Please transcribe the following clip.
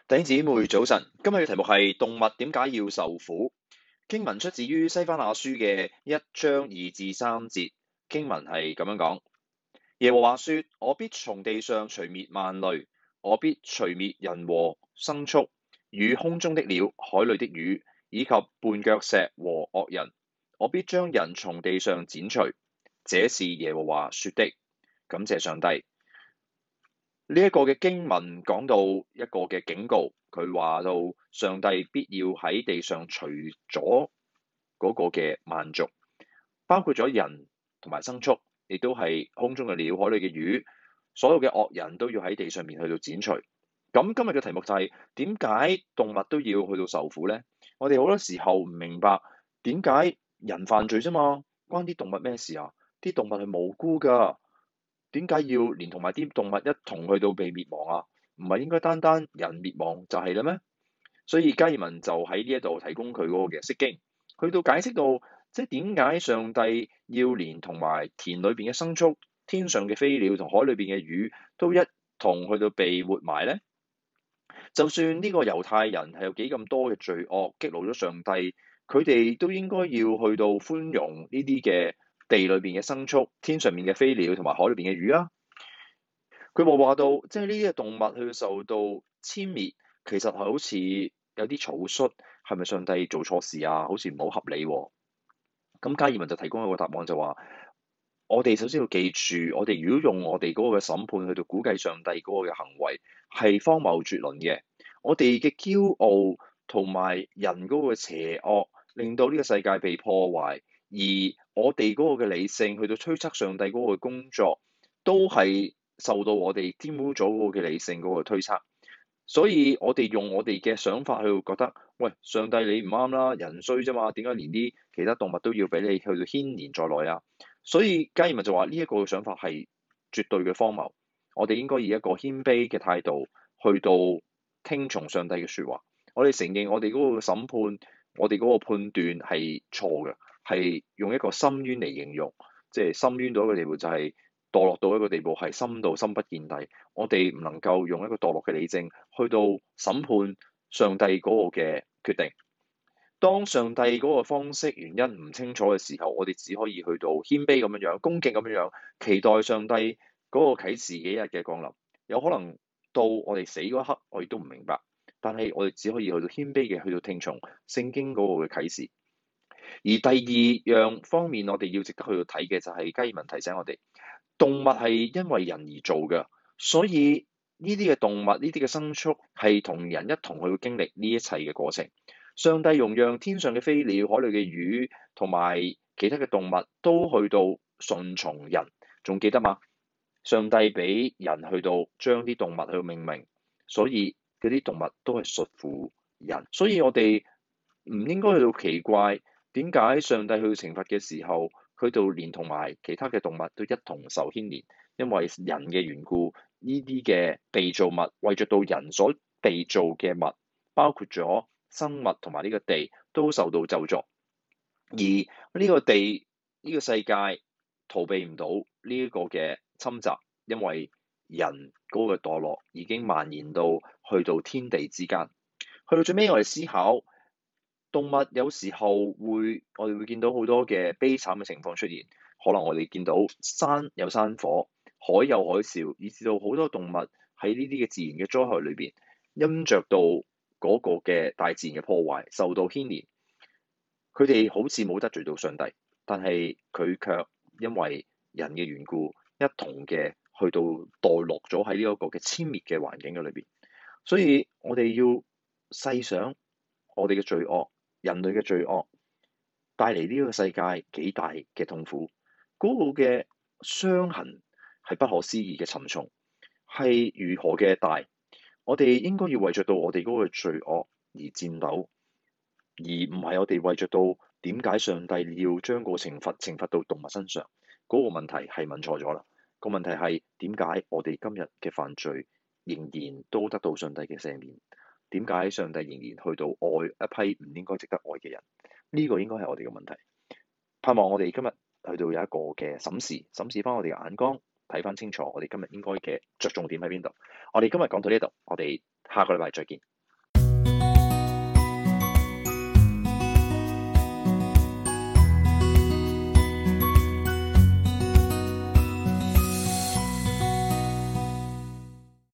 弟兄姊妹早晨，今日嘅題目係動物點解要受苦？經文出自於西番雅書嘅1章2至3節，經文係咁樣講：耶和華說，我必從地上除滅萬類，我必除滅人和牲畜，與空中的鳥、海裡的魚，以及絆腳石和惡人，我必將人從地上剪除。這是耶和華說的。感謝上帝。呢一個嘅經文講到一個嘅警告，佢話到上帝必要喺地上除咗嗰個嘅萬族，包括咗人同埋牲畜，亦都係空中嘅鳥、海裡嘅魚，所有嘅惡人都要喺地上面去到剪除。咁今日嘅題目就係點解動物都要去到受苦呢？我哋好多時候唔明白點解人犯罪啫嘛，關啲動物咩事啊？啲動物係無辜㗎。點解要連同埋啲動物一同去到被滅亡啊？唔係應該單單人滅亡就係啦咩？所以加爾文就喺呢一度提供佢嗰個嘅釋經，去到解釋到即係點解上帝要連同埋田裏邊嘅牲畜、天上嘅飛鳥同海裏邊嘅魚都一同去到被活埋咧？就算呢個猶太人係有幾咁多嘅罪惡，激怒咗上帝，佢哋都應該要去到寬容呢啲嘅地裏邊嘅牲畜、天上面嘅飛鳥同埋海裏邊嘅魚啊。佢冇話到，即係呢啲嘅動物去受到殲滅，其實係好似有啲草率，係咪上帝做錯事啊？好似唔好合理喎。咁加爾文就提供一個答案就話：我哋首先要記住，我哋如果用我哋嗰個嘅審判去到估計上帝嗰個嘅行為，係荒謬絕倫嘅。我哋嘅驕傲同埋人嗰個邪惡，令到呢個世界被破壞，而我哋嗰個嘅理性去到推測上帝嗰個工作，都係受到我哋玷污咗嗰個嘅理性嗰個推測。所以我哋用我哋嘅想法去覺得，喂，上帝你唔啱啦，人衰啫嘛，點解連啲其他動物都要俾你去到牽連在內啊？所以加爾文就話呢一個想法係絕對嘅荒謬。我哋應該以一個謙卑嘅態度去到聽從上帝嘅説話。我哋承認我哋嗰個審判，我哋嗰個判斷係錯嘅，係用一個深淵嚟形容，即係深淵到一個地步就係墮落到一個地步係深到深不見底。我哋唔能夠用一個墮落嘅理性去到審判上帝嗰個嘅決定。當上帝嗰個方式原因唔清楚嘅時候，我哋只可以去到謙卑咁樣樣、恭敬咁樣樣，期待上帝嗰個啟示幾日嘅降臨。有可能到我哋死嗰一刻，我哋都唔明白，但係我哋只可以去到謙卑嘅去到聽從聖經嗰個嘅啟示。而第二樣方面，我哋要值得去到睇嘅就係加爾文提醒我哋，動物係因為人而做嘅，所以呢啲嘅動物、呢啲嘅牲畜係同人一同去經歷呢一切嘅過程。上帝容讓天上嘅飛鳥、海裡嘅魚同埋其他嘅動物都去到順從人，仲記得嗎？上帝俾人去到將啲動物去到命名，所以嗰啲動物都係屬乎人。所以我哋唔應該去到奇怪點解上帝去到懲罰嘅時候，去到連同埋其他嘅動物都一同受牽連，因為人嘅緣故，呢啲嘅被造物為著到人所被造嘅物，包括咗生物同埋呢個地都受到咒詛，而呢個地呢個世界逃避唔到呢一個嘅侵襲，因為人嗰個墮落已經蔓延到去到天地之間。去到最尾，我哋思考動物有時候我哋會見到好多嘅悲慘嘅情況出現，可能我哋見到山有山火、海有海嘯，以至到好多動物喺呢啲嘅自然嘅災害裏邊，因着到嗰個嘅大自然嘅破壞，受到牽連。佢哋好似冇得罪到上帝，但係佢卻因為人嘅緣故，一同嘅去到墮落咗喺呢一個嘅殲滅嘅環境嘅裏邊。所以我哋要細想我哋嘅罪惡，人類嘅罪惡帶嚟呢個世界幾大嘅痛苦，嗰個嘅傷痕係不可思議嘅沉重，係如何嘅大。我哋應該要為着到我哋嗰個罪惡而戰鬥，而唔係我哋為着到點解上帝要將個懲罰到動物身上。嗰個問題係問錯咗啦。個問題係點解我哋今日嘅犯罪仍然都得到上帝嘅赦免？點解上帝仍然去到愛一批唔應該值得愛嘅人？呢個應該係我哋嘅問題。盼望我哋今日去到有一個嘅審視翻我哋嘅眼光，睇翻清楚我哋今日應該嘅着重點喺邊度。我哋今日講到呢度，我哋下個禮拜再見。